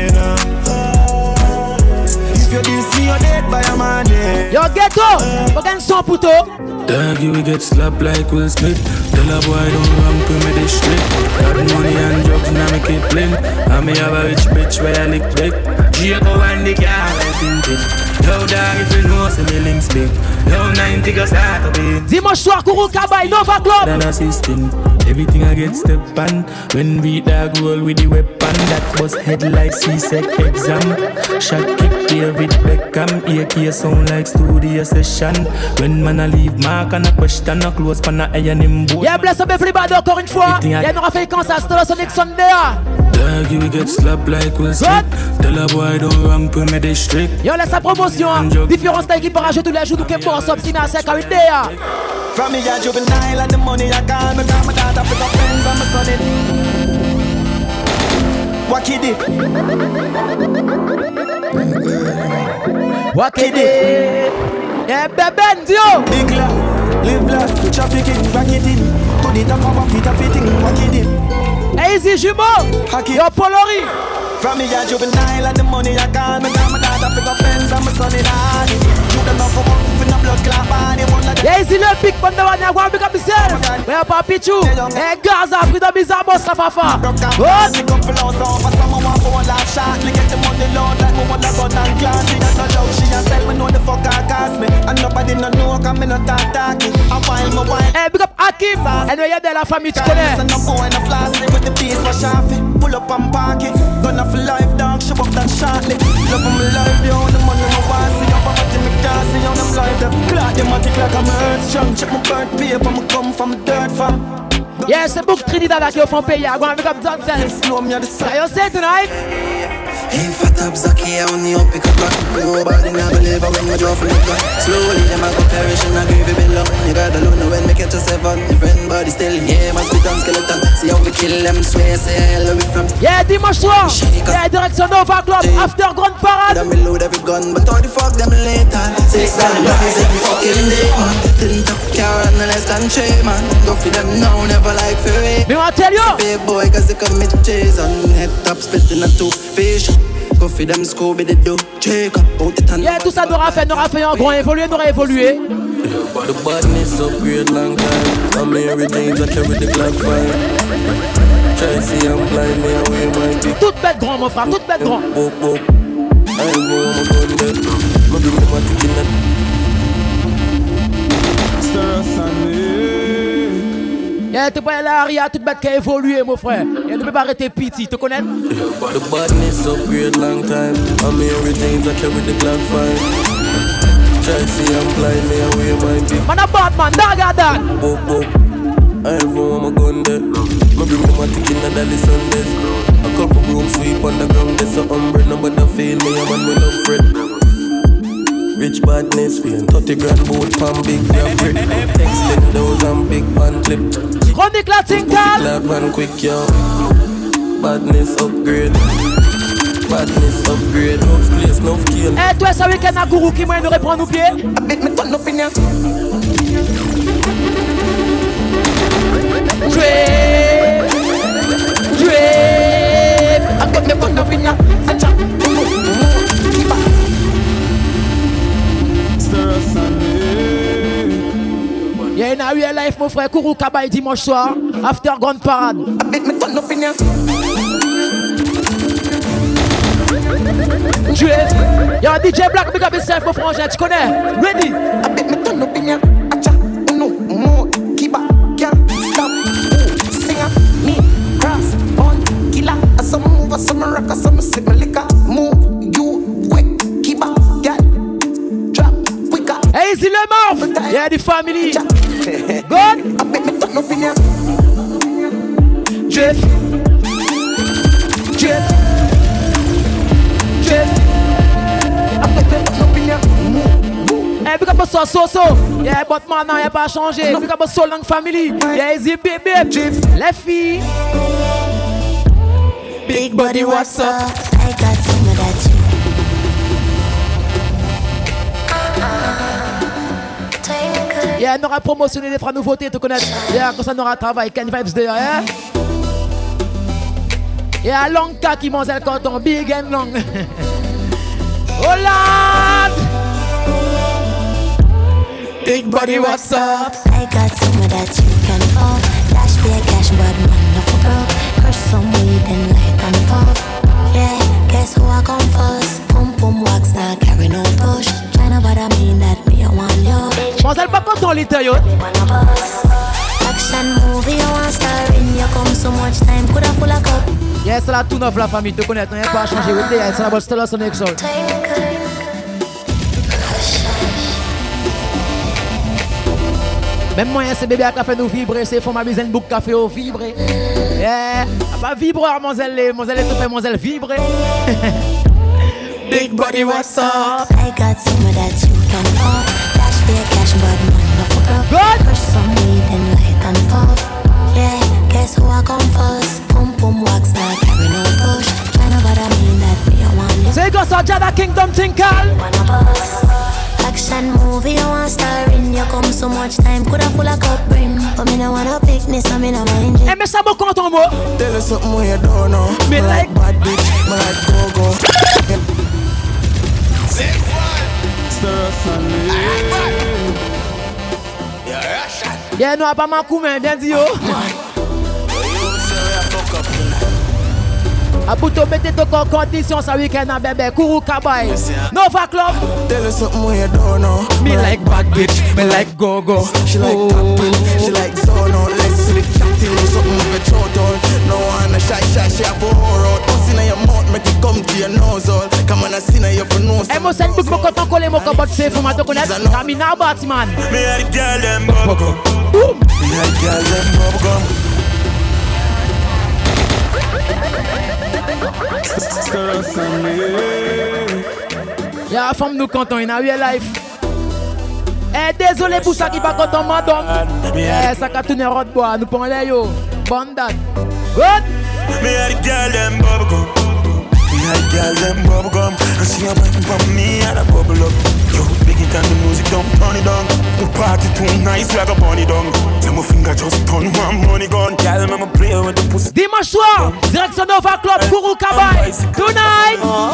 If you diss me, you're dead by a man. Yo, ghetto. Fucking son puto. Dog, you will get slapped like Will Smith. Tell a boy don't ramp with me this street. Got money and drugs now make it plain. I may have a rich bitch where I lick big. Jacob and the car I think it. Yo dog, if you know some links big. Yo 90 go start a beat. Dimanche soir, Kourou Kabay, Nova Club. Than assisting. Everything I get step on. When we dog roll with the weapon. That was head like C-Sec exam. Shot kick David Beckham. AK sound like studio session. When man I leave mark and a question a close pan a iron him boat. Yeah, bless up everybody encore une fois. Yeah, nous fait quand ça se passe Sonic Sunday. Dog, you get slapped like Will Smith. Tell a boy don't ramp with me district. Yo, laisse sa promotion. Différents styles qui paragent tous les jours. Nous qui boss up si na sec à une idée. From me a juvenile and the money I got. Me got my dad pick up pens and my son it. What kid it? What kid it? Yeah, beben, yo. Big lad, live lad, trafficking, back it in. To the top of a feet of fitting, what kid it? Easy jumeau, yo Polori. From me a juvenile and the money I got. Me got my dad pick up pens and my son it hard. You don't know for one, for no blood clot body. Yeah, easy le pic, but the one you want to pick up yourself. We have Papi Chou, hey Gaza, freedom is a boss, la fafa. What? Hey, big up Akim, and we have de la famille, tu connais. Pull up and park it. Gonna for life, dog, shove up that shortly. Love of my life, yo, the money my wife. See up, I'm at the gas, see on them life. Them clock, them matic like I'm earth strong. Check my birth paper, I'ma come from a dirt farm. Yeah, c'est beaucoup Trinidad là qui font payer. I'm going to pick up Johnson. Can you say tonight? Hey, fat up Zaki, I only up pick up back. Nobody never live when you draw from the gun. Slowly, them I go perish and I grieve it below. You got alone when me catch a seven. Your friend body still here, must be done skeleton. See how we kill them, swear, say hello we from. Yeah, dimanche soir. Yeah, direction Nova Club, after Grande Parade. Them load every gun, but how the fuck them later? 6 grand bodies every fucking day, man. Didn't top car and less than 3, man. Go for them now, never like fairy. Me want tell you. Big boy, cause they commit chase on head top, splitting a 2 fish. Go for them Scooby the do check up out the tan. Yeah, tout ça n'aura fait un grand évolué, n'aura évolué. The badness upgrade long time. I'm Mary James, I carry the Glock 5. Try to see I'm blind, me away my dick. Toute bête grand, mon frère, toute bête grand. I'm going to go dead. I'm going to kill that. Yeah, tu peux aller à Aria, toute bête qui a évolué, mon frère. Et ne peut pas arrêter piti, tu connais? The badness upgrade long time. I'm Mary James, I carry the Glock 5. Try to see I'm blind, me away my dick. Man a bad man, dog at that. I'm going to go dead. I'm going to kill that Sundays. A couple room sweep on the ground, there's a umbrella, nobody feel me, I'm on with no fret. Rich badness, we 30 grand boat pan big grab brick. Extend those and big pan clip. Chronique Latin Cal. Glad van quick yo. Badness upgrade. Badness upgrade, no place, no skill. Eh, toi, ça week-end à Gourou qui m'a nous reprend nos pieds. Yeah, in a real life, mon frère, Kourou Kabay dimanche soir, after grande parade. Y'a un DJ Black, big up yourself, mon frangin, tu connais? Ready? Some rock, some sip my liquor. Move, you quick, keep up, get drop, quicker. Hey, is le mort? Yeah, the family. Good. I bet me turn up in here. Jeff. I bet me turn up in here. Hey, big up so. Yeah, but man, now y'a pas changé. Big up so long family. Yeah, easy baby. Jeff. Les filles. Big body, what's up? I got some of that too. Yeah, on aura promotionné les trois nouveautés, te connaître. Yeah, comme ça, on aura travaillé. Ken Vibes d'ailleurs, yeah. Yeah, long cas qui mange le coton, big and long. Hollande! Big body, what's up? I got some of that you can afford. Dash be a cash, but man, no for broke. Crush some weed and light and pop. Yeah, guess who I come first? Pum pum wax, now carry no push. Tryna bother me that me, I want you. Pense elle pas content, l'état, yo. Action movie, you want star in. You come so much time, coulda full of cup. Yeah, c'est la tout neuf, la famille, te connaître. On n'a pas changé. C'est la bonne stella, son exol. Même moi, c'est bébé à café nous vibrer, c'est faut ma bisaine book café au vibrer. Yeah, pas vibreur, monzelle, tout fait monzelle vibrer. Big body, what's up? I got some of that you can afford. Dash be a cash, but man, no for broke. Crush some weed and light and pop. Yeah, guess who I come first? Pum pum wax, now carry no push. Tryna bother me that me, I want you. Say go so Jada Kingdom Tinkal. Action movie, you want star in. You come so much time, coulda full of cup brim. But me no wanna pick this, I me no mind it. Eh, mais ça me compte en moi. Tell us something you don't know. Me like bad bitch, me like go-go. Yeah, nous a pas ma coup, mais bien dit yo. A Bouto, mettez ton condition ce week-end à bébé. Kourou Kabay. Nova Club. Tell us something you don't know. Me like bad bitch, me like go-go. She like tapping, she like zono. Let's see the chatting, something with a total. No one a shy, she a bore out. Bust in your mouth, make it come to your nose all. Come on, I see now you for nose. Eh, moi, c'est une boucle, mon coton collé, mon cobot, c'est fou, ma te connaître. Camina Batman. Me a the girl, them bubblegum. Me a the girl, them bubblegum. Y'a femme nous content in a real life. Eh, désolé pour ça qui pas content madame. Eh, ça qu'a tourné road bois, nous prenons les yo. Bonne date. Good. Me a the girl them bubblegum. Me a the girl them bubblegum. And she a waiting for me and a bubble up. Yo, big it and the music don't turn it down. The party too nice like a bunny down. Tell my finger just turn one money gun. Girl, I'ma play with the pussy. Dimanche soir, direction Nova Club, Kourou Kabay. Tonight.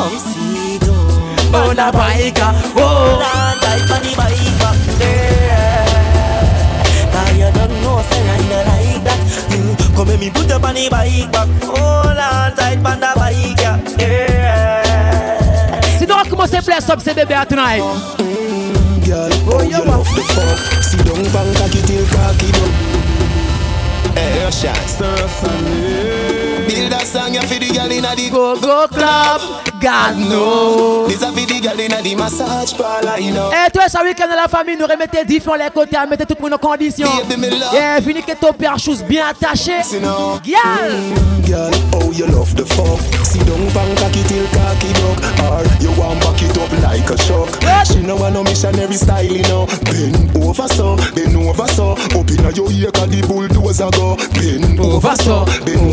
Oh, la baïka, oh, la tight on the baïka, yeah. Now you don't know, say I don't like that. Come and me put up on the bike back. Oh, la tight on the baïka, yeah. Si nous recommençons bless up, c'est bébé à tonight. Girl, oh, you love the fuck. See, don't bang cocky till cocky down. Hey, shot. Build a song, you feel the girl inna the go-go club. God no. This a feel the girl inna the massage parlor, you know. Eh, toi, ce week-end la famille, nous remettez différents les côtés, à mettre tout le monde en condition. Yeah, fini que ton père chose bien attaché. Girl, oh, you love the fuck. See, don't bang cocky till cocky dog. Or you want back it up like a shock. She no want no missionary style, you know. Bend over so, up inna your ear 'cause the bulldozer go. Bend over so,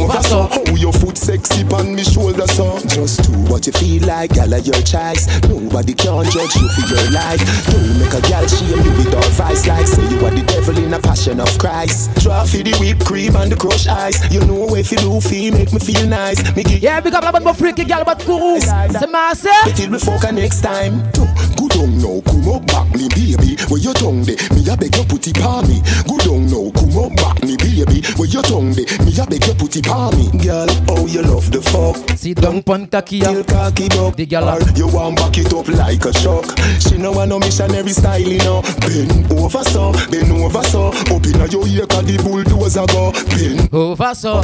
oh your foot sexy pon me shoulder so. Just do what you feel like, gal of your choice. Nobody can judge you for your life. Don't make a gal shame you with all vice like say you are the devil in a passion of Christ. Draw for the whipped cream and the crushed ice. You know if you do feel make me feel nice. Yeah, big up la bonne freaky gal but Kourou. C'est ma sœur. Till we fuck next time. Good on now, come up back me baby. Where your tongue de? Me a beg you put it on me. Good on now, come up back me baby. Where your tongue de? Me a beg you put it on me. Girl, oh you love the fuck. Sit down pon takia. Till cocky up. The gal. You want back it up like a shock. She no want no missionary style, you know. Bend over so, up inna your ear 'cause the bulldozer go. Bend over so,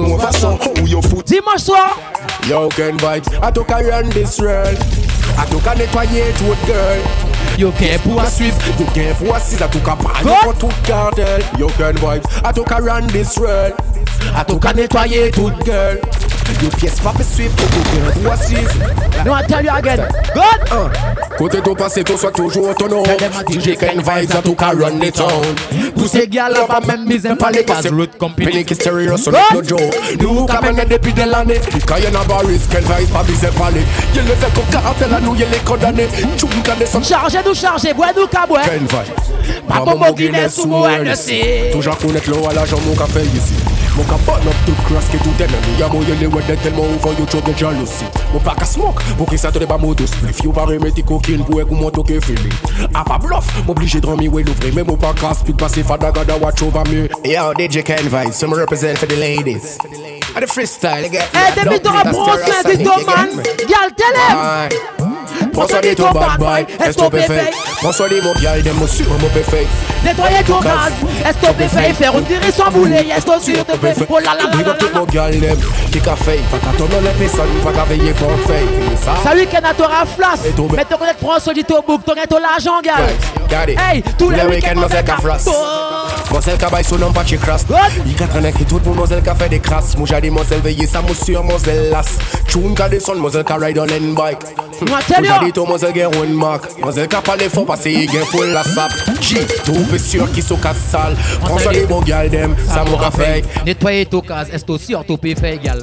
oh your foot. Dimanche soir. Yo can vibes, I took a run this world. I took a nettoyer to a girl. You can't poursuivre, you can't poursuivre. I took a pan for tout cartel. Yo can vibes, I took a run this world. I took a nettoyer to a girl. You pièce pas me suivre, tu peux poursuivre. No, I tell you again. Good. Côté ton passé, toi sois toujours autonome. DJ Ken Vibes, I took a run the town. Tous ces gars là pas même mis un palais casse route compagnie. Penny qui stéréo sur le joke. Nous camène depuis de l'année. Quand y'en a baris, Ken Vibes pas mis un palais. Y'en le fait comme cartel à nous, y'en les condamnés. Tu me gardes son. Chargez, bois nous caboué. Ken Vibes. Papa mon Guinness sous moi, elle sait. Toujours connaître l'eau à l'argent, mon café ici. Mon capot n'a tout crasse que tout ennemi. Y'a moyen les weddes tellement où quand you trouve de jalousie. Mon pack à smoke, pour que ça te débat moto spliff. You pas remettre coquine pour écouter mon toque feeling. A pas bluff, m'obligé de ramener l'ouvrir. Mais mon pack à speak passer fada gada watch over me. Yo, DJ Ken Vibes, some represent for the ladies. And the freestyle, again. Eh, depuis ton approche, c'est dit man. Gal, télé. Prends soin de ton bad boy, estopé fait. Prends soin de mon gal, de mon sur mon fait. Nettoyer ton gaz, estopé fait. Faire une tirer sans boulet, esto sur te fait. Oh la la la la. Tout mon gal, qui qu'a fait. Pas qu'à ton nom, les personnes, pas qu'à veiller pour fait. Ça week-end à ton raflas. Mais ton connaître prends soin de ton bouc, ton ton l'argent, gal. Hey, tous les week-ends, mon zèle raflas. Mon zèle cabaye son nom, pas chez crasse. Il qu'a traîné qui tout pour mon zèle qu'a fait des crasses. Mon jardin, mon zèle veiller, ça mon sur mon zèle las. Choun qu'a descend, mon zèle qu'a ride on end bike. J'ai dit tout mon zèle gen one mark. Mon zèle qu'a parlé fort parce qu'il gen full la sap. J, tout peu sûr qui sont casse sale. Prends soin de mon gal dem, ça m'aura fait. Nettoyer ton gaz, est aussi orthopé fait égal.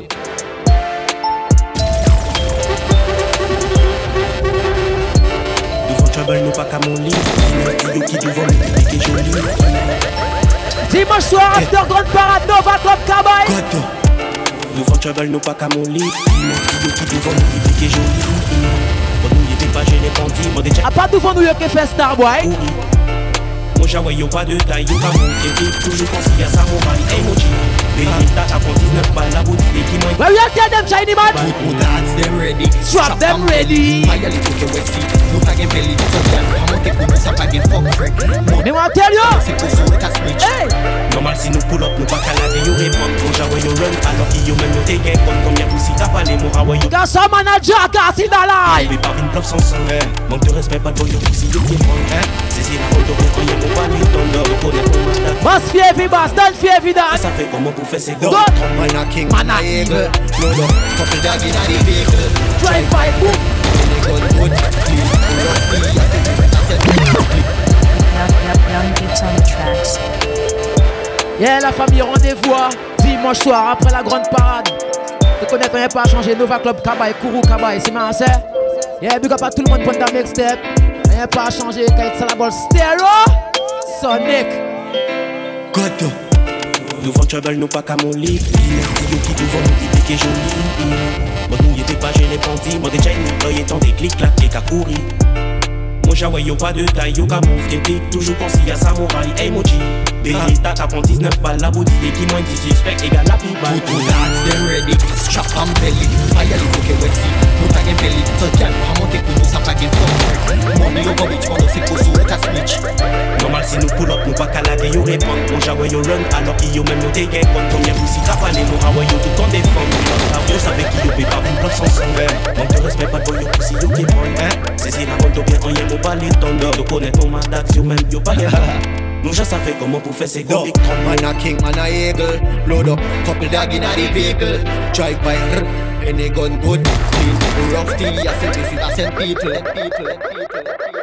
Devant trouble, nous pas qu'à mon lit. Yo qui devant me qui joli. Dimanche soir, after grande parade, Nova Club Cabaye. Devant trouble, nous pas qu'à mon lit. Yo qui devant me qui joli. Bon, nous y'était pas gêné bandit. A pas devant nous, y'a que fait Starboy. Mon jawa yo pas de taille, yo pas mon toujours consigne à sa morale, hey mon G. Bénita à 19 balles la boutique qui m'a. Well, you tell them shiny man. Put dance them ready. Strap them ready. Fire little que wet feet. No tag belly. I'm okay pour nous ça pas get fuck freak. Me want tell you. C'est pour ça que switch. Hey. Normal si nous pull up, nous pas calader yo répondre. Mon jawa yo run alors qu'il yo même yo take un compte combien poussi t'as pas les mots hawa yo. Gas a manager gas in the line. Mais pas une club sans sang. Manque de respect pas de yo poussi yo qui prend. C'est la route de rien mon pas ni ton de connaître mon mandat. Boss fier bass, don't fear that. Ça fait comment pour faire c'est go. Man a king, man a eagle. Load up, couple dog in the vehicle. Drive by, boom. Young beats on the tracks. Yeah, la famille, rendez-vous dimanche soir après la grande parade. Tu connais qu'on n'est pas changé. Nova Club Cabaye, Kourou Cabaye, c'est ma sœur. Yeah, big up à tout le monde pour ta mixtape. On n'est pas changé quand il la balle stéréo. Sonic. Goto. Nous vend trouble, nous pas qu'à mon lit. Yo qui devant nous dit que joli. Bon, nous y'était pas gêné bandit. Moi déjà une employé tant des clics clac et qu'à courir. Mon jawa yo pas de taille, yo qu'à move t'es toujours consigne à sa morale, hey mon G. Bénita à 19 balles la boutique qui moins 10 suspect égale la plus balle. Put dance them ready, strap on belly. Fire little que wet feet. No tag belly. So gal, pas monter pour nous ça pas get fuck. Money over which one c'est pour ça qu'à switch. Normal si nous pull up, nous pas calader yo répondre. Mon jawa yo run alors qu'il yo même yo take un compte combien poussi t'as pas les mots hawa yo tout en défendre. Yo savait qu'il yo paye pas une bloc sans sang. Manque de respect pas de yo poussi yo qui prend. C'est la route de bien en y'a mon pas les tondeurs. De connaître mon mandat yo même yo pas rien. Nous je savais comment pour faire ces gros big trompe. Man a king, man a eagle. Load up, couple dog in the vehicle. Drive by, any gun good. Clean, rough steel, I said this is a send people.